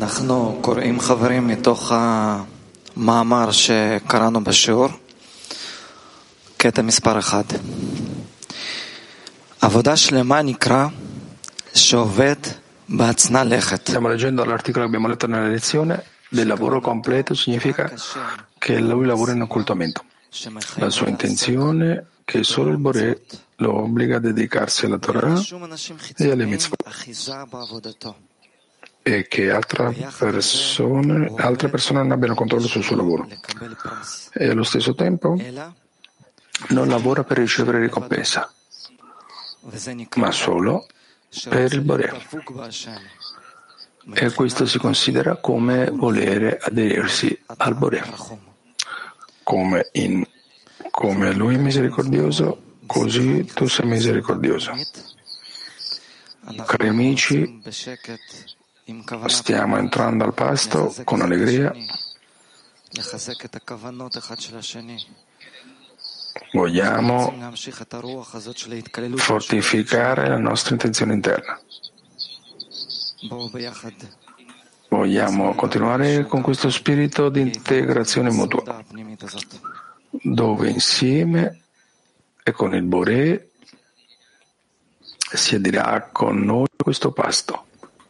אנחנו קוראים חברים מתוך המאמר שקראנו בשיעור, קטע מספר 1. עבודה שלמה נקרא שעובד בהצנע לכת. Stiamo leggendo l'articolo che abbiamo letto nella lezione. Del lavoro completo significa che lui lavora in occultamento. La sua intenzione è che solo il Boré lo obbliga a dedicarsi alla Torah e alle mitzvot, e che altre persone non abbiano controllo sul suo lavoro, e allo stesso tempo non lavora per ricevere ricompensa, ma solo per il Boré. E questo si considera come volere aderirsi al Boré. Come lui è misericordioso, così tu sei misericordioso. Cari amici, stiamo entrando al pasto con allegria. Vogliamo fortificare la nostra intenzione interna. Vogliamo continuare con questo spirito di integrazione mutua, dove insieme e con il Boré si adirà con noi questo pasto.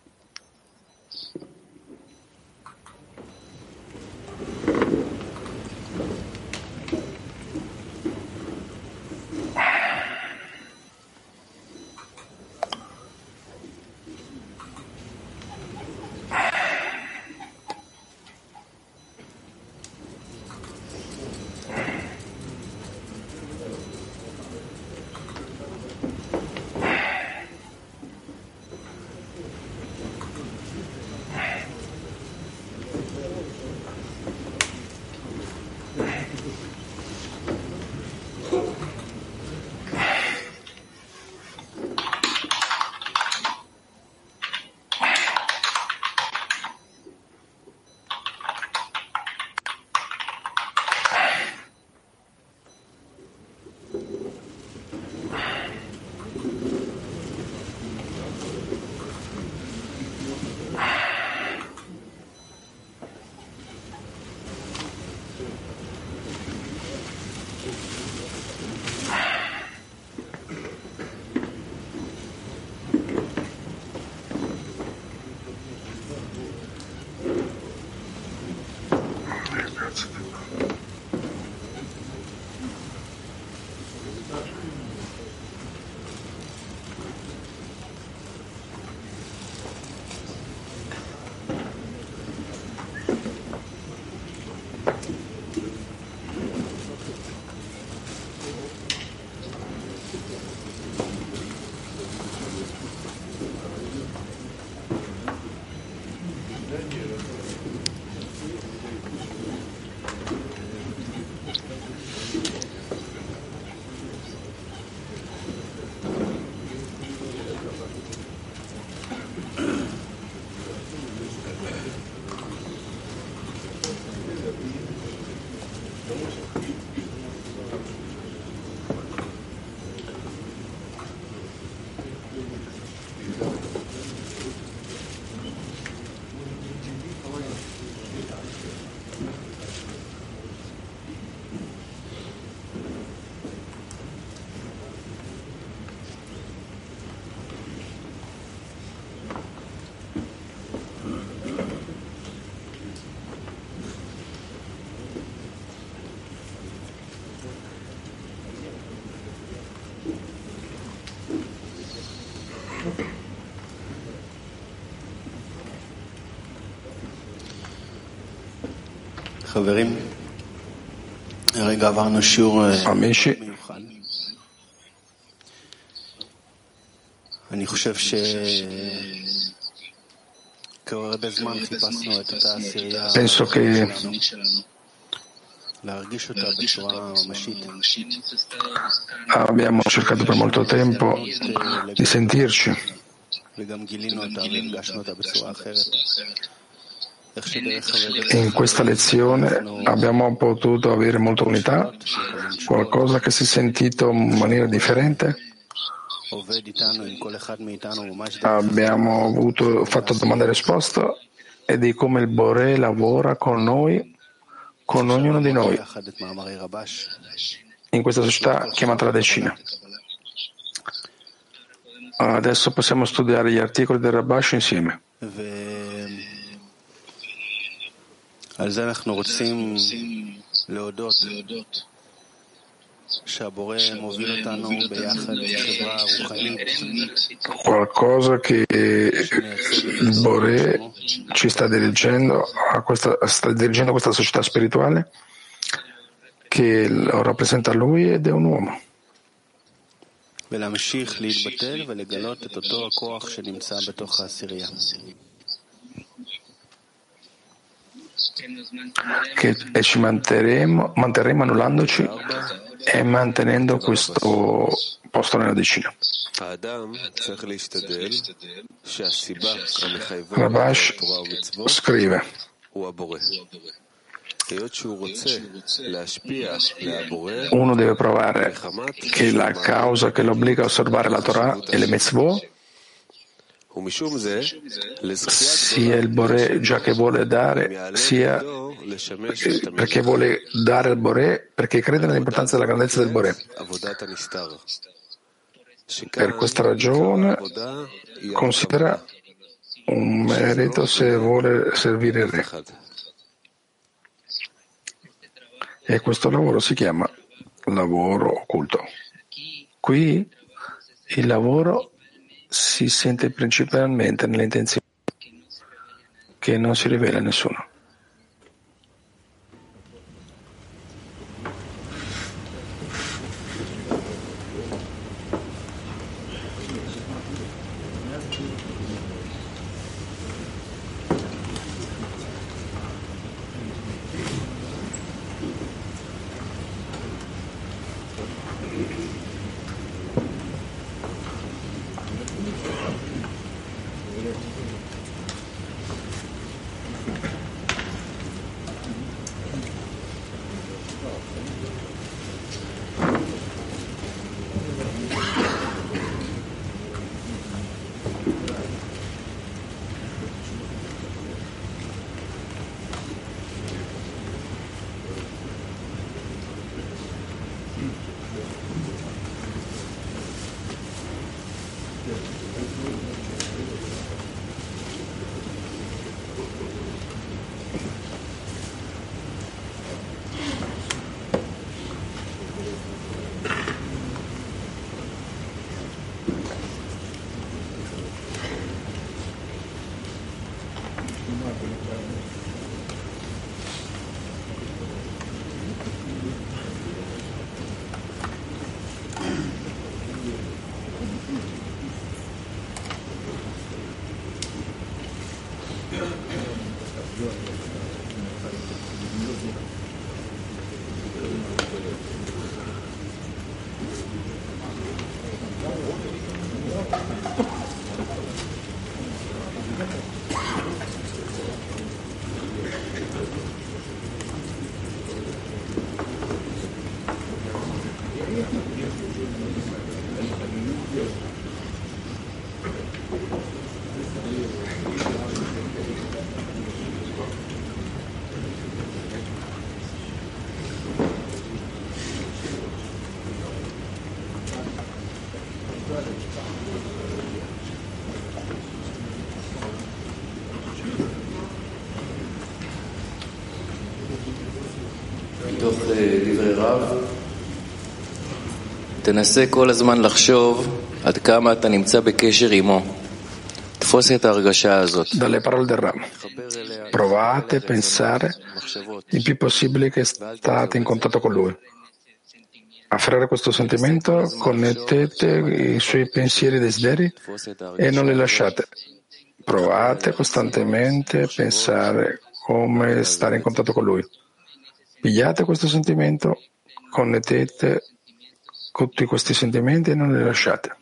Amici, penso che abbiamo cercato per molto tempo di sentirci e in questa lezione abbiamo potuto avere molta unità, qualcosa che si è sentito in maniera differente. Abbiamo fatto domanda e risposta e di come il Boré lavora con noi, con ognuno di noi, in questa società chiamata la decina. Adesso possiamo studiare gli articoli del Rabash insieme. Qualcosa che il Boré ci sta dirigendo sta dirigendo questa società spirituale che lo rappresenta lui ed è un uomo. E ci manterremo annullandoci e mantenendo questo posto nella decina. Rabash scrive: uno deve provare che la causa che lo obbliga a osservare la Torah e le mitzvot sia il Boré, già che vuole dare, sia perché vuole dare al Boré, perché crede nell'importanza della grandezza del Boré. Per questa ragione considera un merito se vuole servire il Re. E questo lavoro si chiama lavoro occulto. Qui il lavoro si sente principalmente nell'intenzione che non si rivela a nessuno. מתוך דברי רב, תנסה כל הזמן לחשוב עד כמה אתה נמצא בקשר עמו. תפוס את ההרגשה הזאת. Dalle parole del Ram. Provate a pensare il più possibile che state in contatto con lui. Afferrare questo sentimento, connettete i suoi pensieri e desideri e non li lasciate. Provate costantemente a pensare come stare in contatto con lui. Pigliate questo sentimento, connettete tutti questi sentimenti e non li lasciate.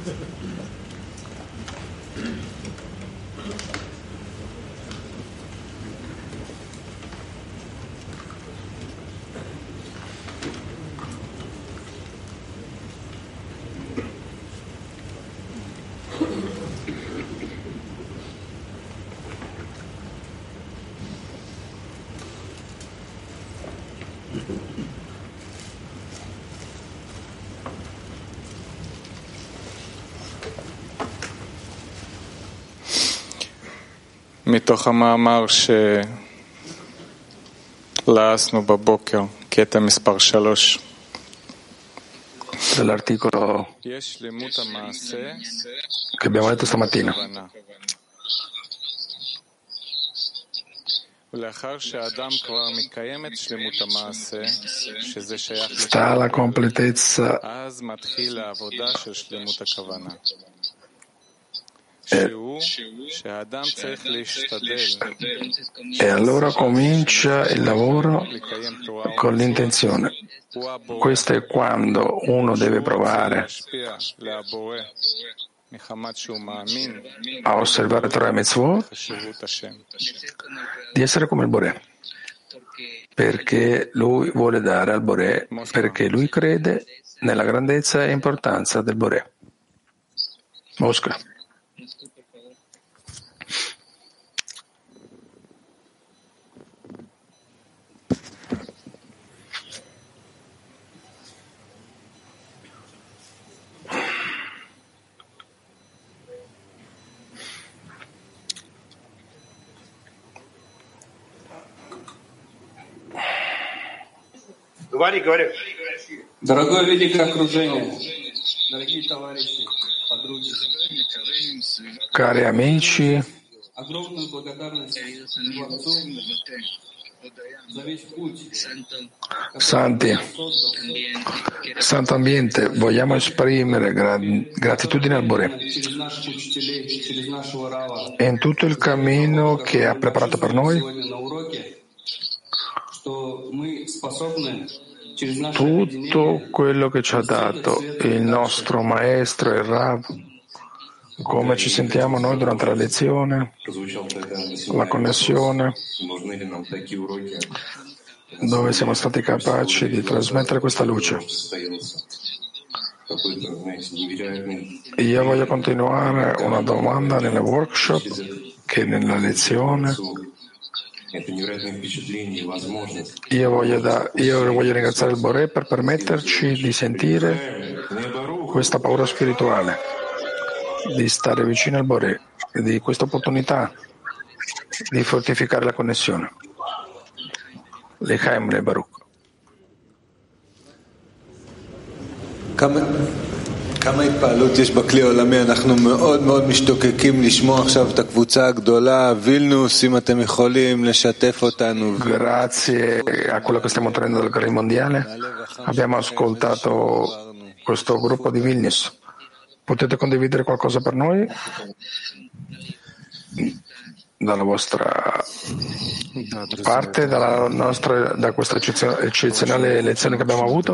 מתוך המאמר שלעסנו בבוקר, קטע מספר 3. Dell'articolo che abbiamo letto stamattina. Sta alla completezza e allora comincia il lavoro con l'intenzione. Questo è quando uno deve provare a osservare Torah e Mitzvot di essere come il Boré, perché lui vuole dare al Boré, perché lui crede nella grandezza e importanza del Boré. Mosca. Дорогое великое окружение, дорогие товарищи, подруги, Cari amici, огромную благодарность Творцу за весь путь, santi, santo ambiente, vogliamo esprimere gratitudine al Boré через наших учителей, через нашего Рава, e in tutto il cammino che ha preparato per noi, сегодня на уроке, что мы способны через наше tutto quello che ci ha dato il nostro maestro, il Rav, come ci sentiamo noi durante la lezione, la connessione, dove siamo stati capaci di trasmettere questa luce. Io voglio continuare una domanda nel workshop che nella lezione. Io voglio ringraziare il Boré per permetterci di sentire questa paura spirituale, di stare vicino al Boré, di questa opportunità di fortificare la connessione. L'Echaim le Baruch. כמה התפעלות יש בכלי העולמי, אנחנו מאוד מאוד משתוקקים לשמוע עכשיו את הקבוצה הגדולה, וילנוס, אם אתם יכולים לשתף אותנו. Grazie a quello che stiamo ottenendo dal Gri mondiale, abbiamo ascoltato questo gruppo di Vilnius. Potete condividere qualcosa per noi? Dalla vostra parte, da questa eccezionale lezione che abbiamo avuto?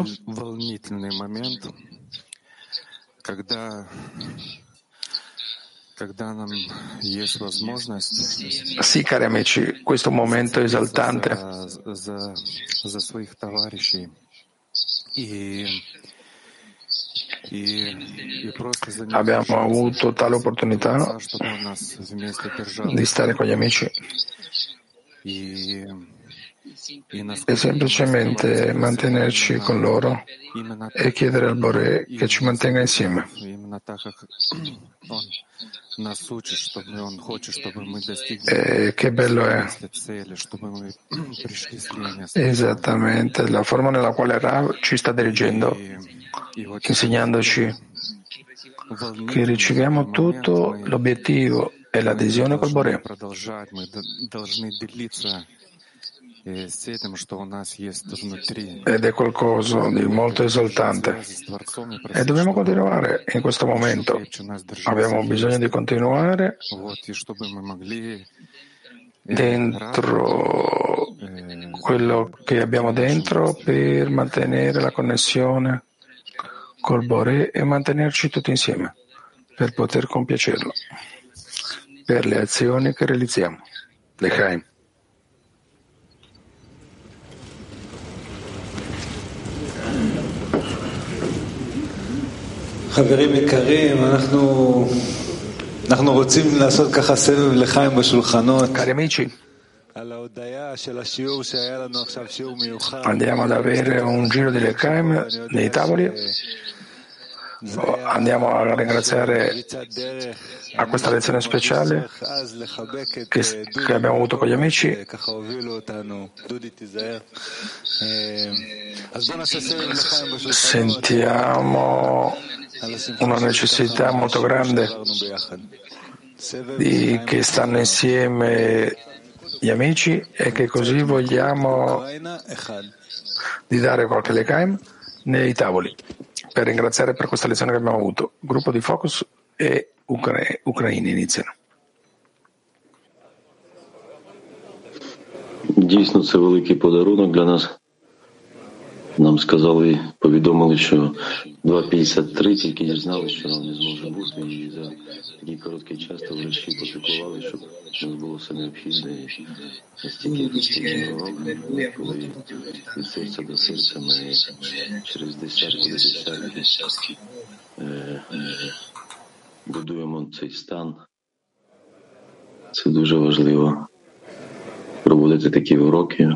Sì, cari amici, questo è un momento esaltante. Abbiamo avuto tale opportunità di stare con gli amici e semplicemente mantenerci con loro e chiedere al Boré che ci mantenga insieme. E che bello è esattamente la forma nella quale Rav ci sta dirigendo, insegnandoci che riceviamo tutto l'obiettivo e l'adesione col Boré. Ed è qualcosa di molto esaltante e dobbiamo continuare in questo momento. Abbiamo bisogno di continuare dentro quello che abbiamo dentro per mantenere la connessione col Boré e mantenerci tutti insieme. per poter compiacerlo, per le azioni che realizziamo. Lechaim. חברים יקרים, אנחנו רוצים לעשות ככה סבב לחיים בשולחנות. Cari amici, andiamo ad avere un giro di Lechaim nei tavoli. Andiamo a ringraziare a questa lezione speciale che abbiamo avuto con gli amici. Sentiamo una necessità molto grande che stanno insieme gli amici e che così vogliamo di dare qualche Lechaim nei tavoli per ringraziare per questa lezione che abbiamo avuto. Gruppo di Focus e ucraini iniziano. Дійсно, це великий подарунок для нас. Нам сказали, повідомили, що 2.53, тільки дізналися, що нам не зможе бути, і за такий короткий час товариші попіклували, щоб у нас було все необхідне. І настільки ефективний урок, коли від серця до серця ми через десятки до десятки будуємо цей стан. Це дуже важливо. Проводити такі уроки.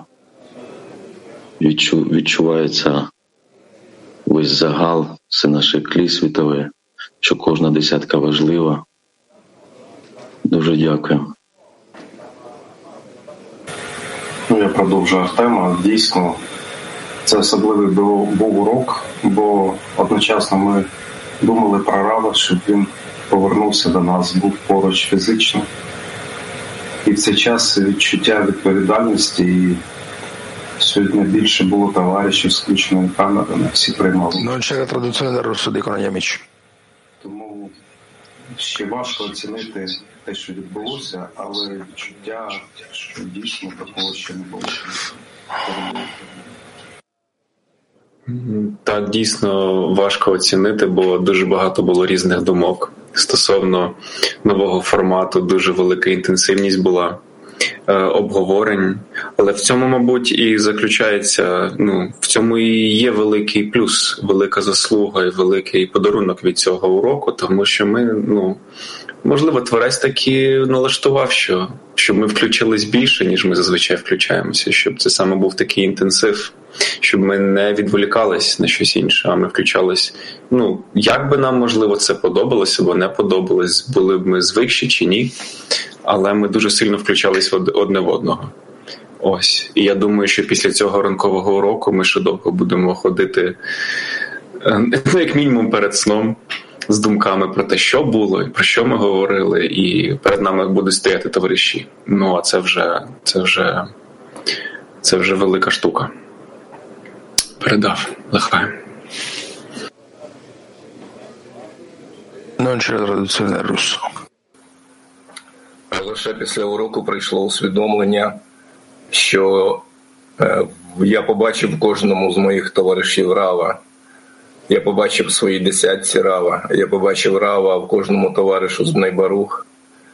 Відчувається весь загал, це наше тлі світове, що кожна десятка важлива. Дуже дякую. Я продовжую Артема. Дійсно, це особливий був урок, бо одночасно ми думали про Рава, щоб він повернувся до нас, був поруч фізично. І в цей час відчуття відповідальності і сьогодні більше було товаришів з включеною камерою, всі приймали. Non c'è la traduzione dal russo, dicono gli amici. Тому ще важко оцінити те, що відбулося, але відчуття, що дійсно такого ще не було. Так, дійсно важко оцінити, бо дуже багато було різних думок стосовно нового формату, дуже велика інтенсивність була обговорень. Але в цьому, мабуть, і заключається, в цьому і є великий плюс, велика заслуга і великий подарунок від цього уроку, тому що ми, можливо, Творець таки налаштував, щоб ми включились більше, ніж ми зазвичай включаємося, щоб це саме був такий інтенсив, щоб ми не відволікались на щось інше, а ми включались. Як би нам, можливо, це подобалося або не подобалось, були б ми звикші чи ні, але ми дуже сильно включались одне в одного. Ось. І я думаю, що після цього ранкового уроку ми ще довго будемо ходити, як мінімум перед сном, з думками про те, що було, і про що ми говорили, і перед нами будуть стояти товариші. А це вже велика штука. Передав. Лехаєм. Non c'è la traduzione dal russo. Лише після уроку прийшло усвідомлення, що я побачив в кожному з моїх товаришів Рава. Я побачив в своїй десятці Рава. Я побачив Рава в кожному товаришу з Бней Барух.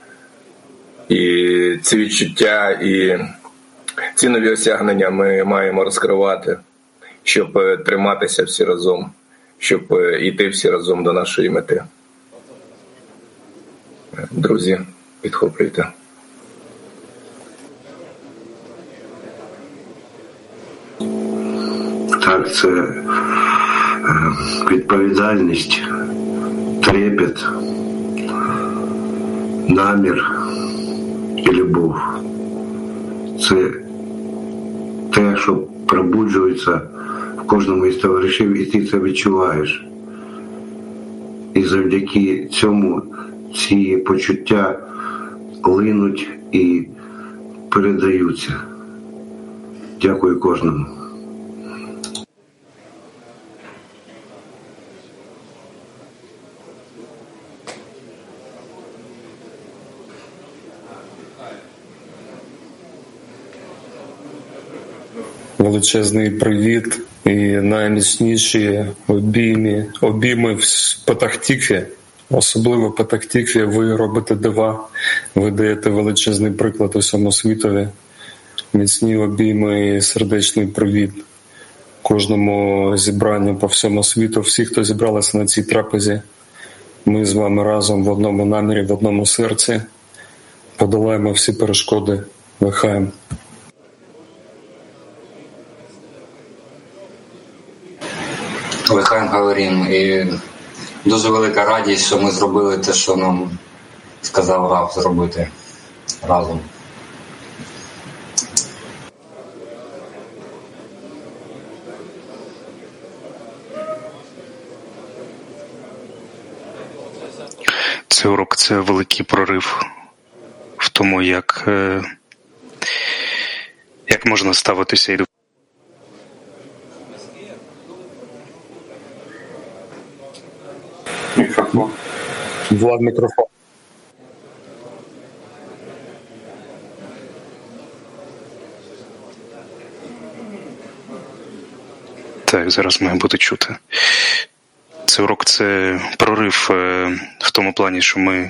І ці відчуття і ці нові осягнення ми маємо розкривати, щоб триматися всі разом, щоб йти всі разом до нашої мети. Друзі, підхоплюйте. Так, це відповідальність, трепет, намір і любов. Це те, що пробуджується в кожному із товаришів, і ти це відчуваєш. І завдяки цьому ці почуття линуть і передаються. Дякую кожному. Величезний привіт і найміцніші обійми в Петах-Тікві Особливо Петах-Тікві ви робите дива, ви даєте величезний приклад усьому світові. Міцні обійми і сердечний привіт кожному зібранню по всьому світу. Всі, хто зібралися на цій трапезі, ми з вами разом в одному намірі, в одному серці подолаємо всі перешкоди. Лихаєм. Лихаєм говоримо. І дуже велика радість, що ми зробили те, що нам сказав Рав зробити разом. Цей урок – це великий прорив в тому, як можна ставитися і до Мікрофон. Влад, мікрофон. Так, зараз має бути чути. Цей урок – це прорив в тому плані, що ми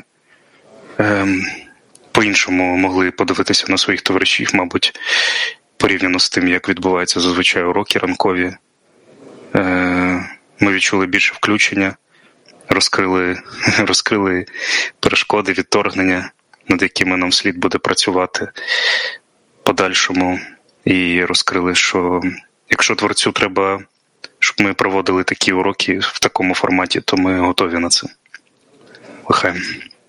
по-іншому могли подивитися на своїх товаришів, мабуть, порівняно з тим, як відбуваються зазвичай уроки ранкові. Ми відчули більше включення, розкрили перешкоди, відторгнення, над якими нам слід буде працювати подальшому, і розкрили, що якщо Творцю треба, щоб ми проводили такі уроки в такому форматі, то ми готові на це. Лихаєм.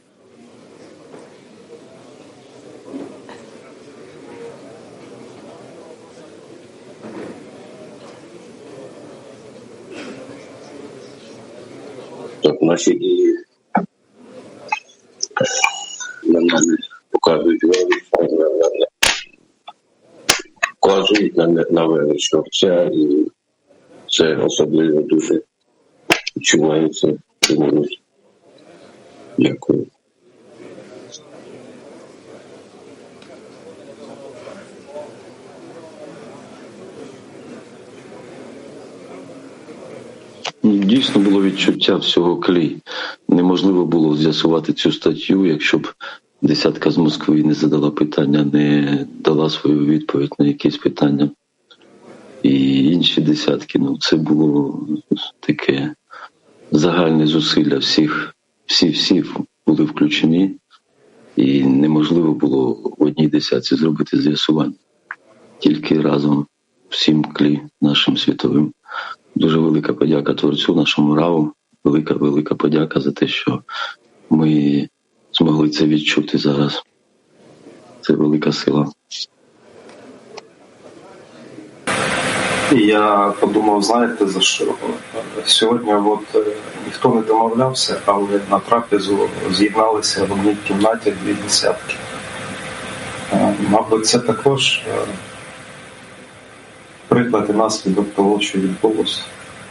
Так, наші дії показують на величного Отця, і це особливо дуже відчувається. Дякую. Дійсно було відчуття всього клі. Неможливо було з'ясувати цю статтю, якщо б десятка з Москви не задала питання, не дала свою відповідь на якісь питання. І інші десятки. Це було таке загальне зусилля всі були включені, і неможливо було в одній десятці зробити з'ясування. Тільки разом всім клі нашим світовим. Дуже велика подяка Творцю, нашому Раву. Велика подяка за те, що ми змогли це відчути зараз. Це велика сила. Я подумав, знаєте, за що? Сьогодні ніхто не домовлявся, але на трапезу з'єдналися в одній кімнаті 2 десятки. Мабуть, це також приклад і наслідок того, що відбулося.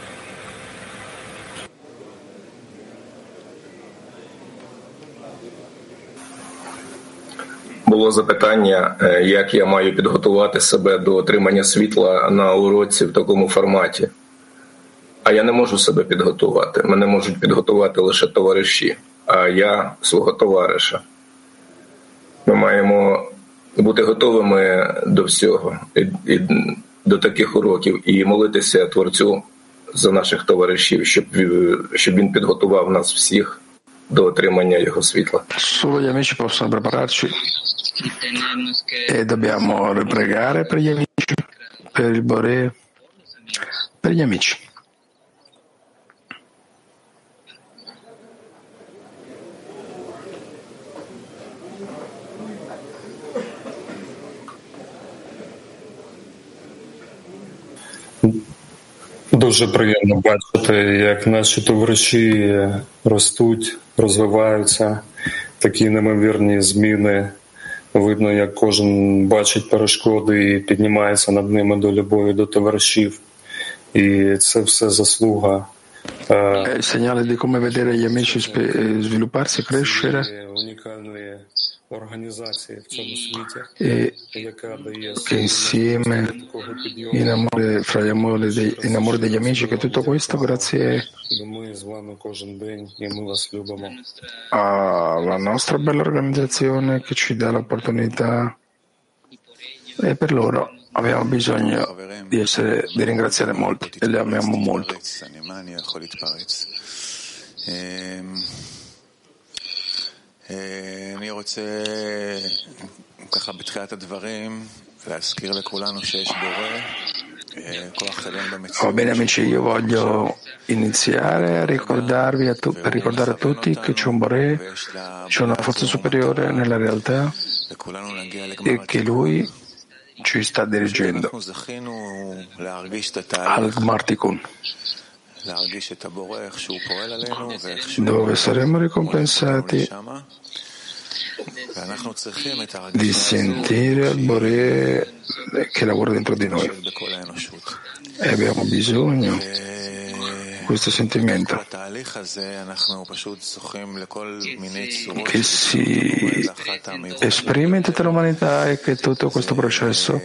Було запитання, як я маю підготувати себе до отримання світла на уроці в такому форматі. А я не можу себе підготувати. Мене можуть підготувати лише товариші, а я свого товариша. Ми маємо бути готовими до всього, і до таких уроків, і молитися Творцю за наших товаришів, щоб він підготував нас всіх до отримання його світла. Solo gli amici possono prepararci e dobbiamo pregare per gli amici, per il Boré, per gli amici. Дуже приємно бачити, як наші товариші ростуть, розвиваються, такі неймовірні зміни. Видно, як кожен бачить перешкоди і піднімається над ними до любові до товаришів. І це все заслуга. È il segnale di come vedere gli amici svilupparsi, crescere. e che insieme in amore, fra in amore degli amici, che tutto questo grazie alla nostra bella organizzazione che ci dà l'opportunità, e per loro abbiamo bisogno di ringraziare molto e li amiamo molto. אני רוצה ככה בתחילת הדברים להזכיר לכולנו שיש בורא. Va bene amici, io voglio iniziare a ricordare a tutti che c'è un Boré, c'è una forza superiore nella realtà e che Lui ci sta dirigendo al Martikun, dove saremo ricompensati di sentire il Boré che lavora dentro di noi, e abbiamo bisogno di questo sentimento che si esprime in tutta l'umanità e che tutto questo processo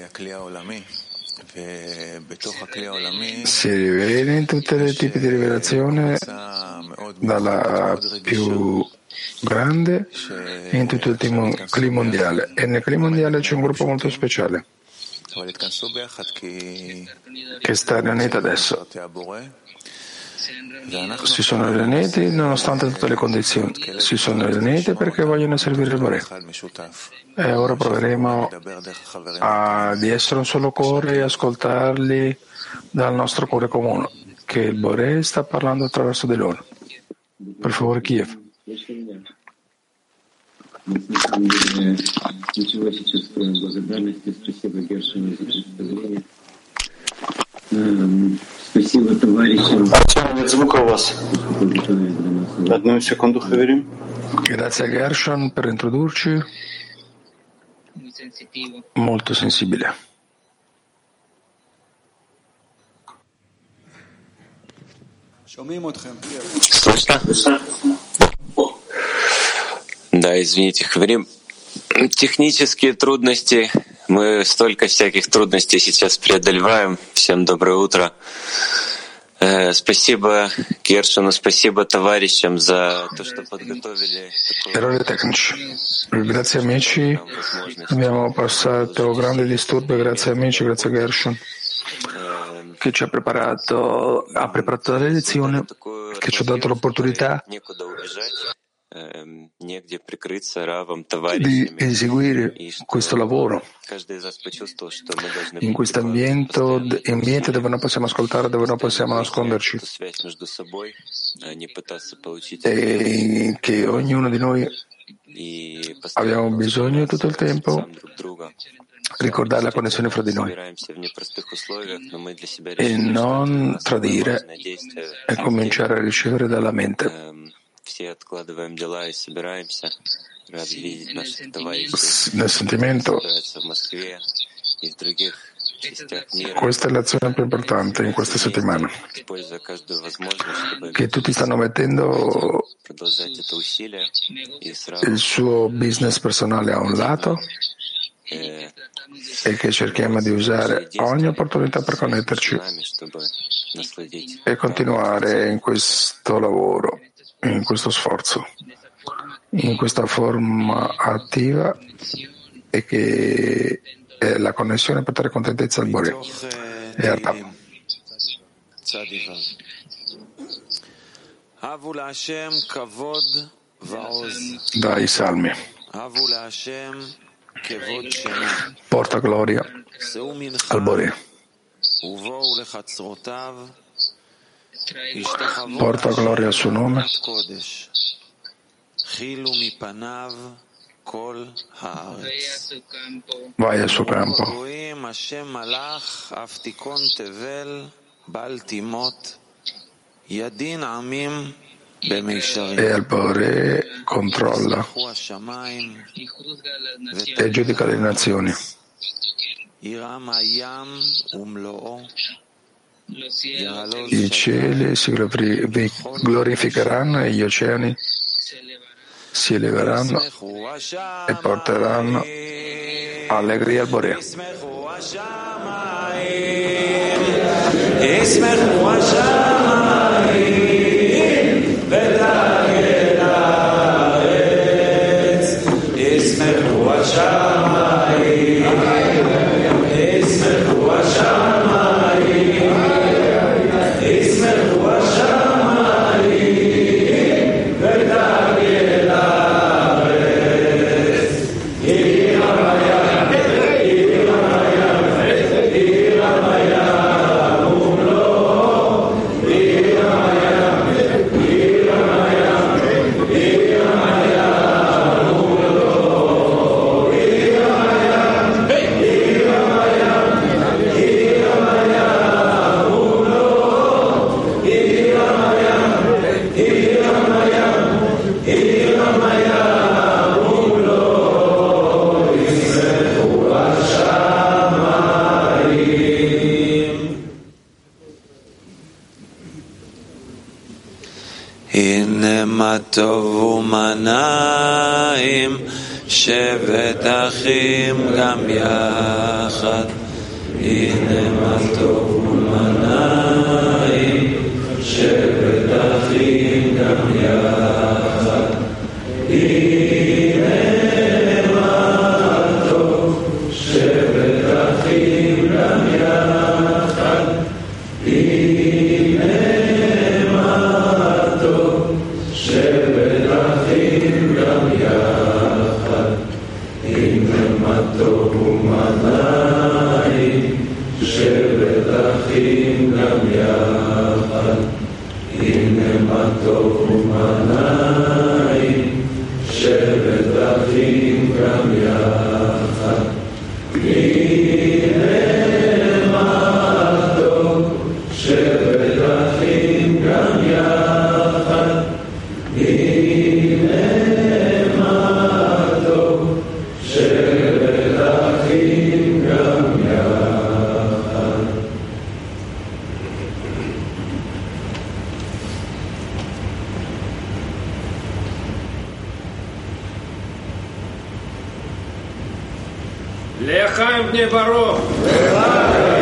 si rivela in tutti i tipi di rivelazione, dalla più grande e in tutto il Kli mondiale, e nel Kli mondiale c'è un gruppo molto speciale che sta riunito adesso. Si sono riuniti nonostante tutte le condizioni, si sono riuniti perché vogliono servire il Boré, e ora proveremo di essere un solo cuore e ascoltarli dal nostro cuore comune, che il Boré sta parlando attraverso di loro. Per favore, Kiev. Ничего сейчас, кроме благодарности. Спасибо Гершину за представление. Спасибо товарищам. Нет звука у вас. Одну секунду, Хаверим. Grazie a Gershon per introdurci. Molto sensibile. Слышно? Да, извините, Хаверим. Технические трудности. Мы столько всяких трудностей сейчас преодолеваем. Всем доброе утро. Спасибо Гершину, спасибо товарищам за то, что подготовили. Errori tecnici. Grazie amici, abbiamo passato grandi disturbi, grazie amici, grazie a Gershon che ci ha preparato la lezione, che ci ha dato l'opportunità di eseguire questo lavoro in questo ambiente dove non possiamo ascoltare, dove non possiamo nasconderci, e che ognuno di noi abbiamo bisogno tutto il tempo ricordare la connessione fra di noi e non tradire e cominciare a ricevere dalla mente. Nel sentimento, questa è l'azione più importante in questa settimana, che tutti stanno mettendo il suo business personale a un lato e che cerchiamo di usare ogni opportunità per connetterci e continuare in questo lavoro, in questo sforzo, in questa forma attiva, e che è la connessione per dare contentezza al Boré e a Tam. Dai Salmi. Porta gloria al Boré. Porta gloria al suo nome. Vai al suo campo. E al Boré controlla e giudica le nazioni. I cieli si glorificheranno e gli oceani si eleveranno e porteranno allegria al Boré. מה טוב ומה נעים, שבת אחים גם יחד. הנה מה טוב ומה נעים, שבת אחים גם יחד. הנה מה טוב, שבת אחים גם יחד. הנה מה טוב, שבת אחים גם יחד. הנה מה טוב ומה נעים, שבת אחים גם יחד. הנה מה טוב ומה נעים, שבת אחים גם יחד. הנה מה טוב, שבת אחים גם יחד. הנה מה טוב, שבת אחים גם יחד. לחיים בני ברוך.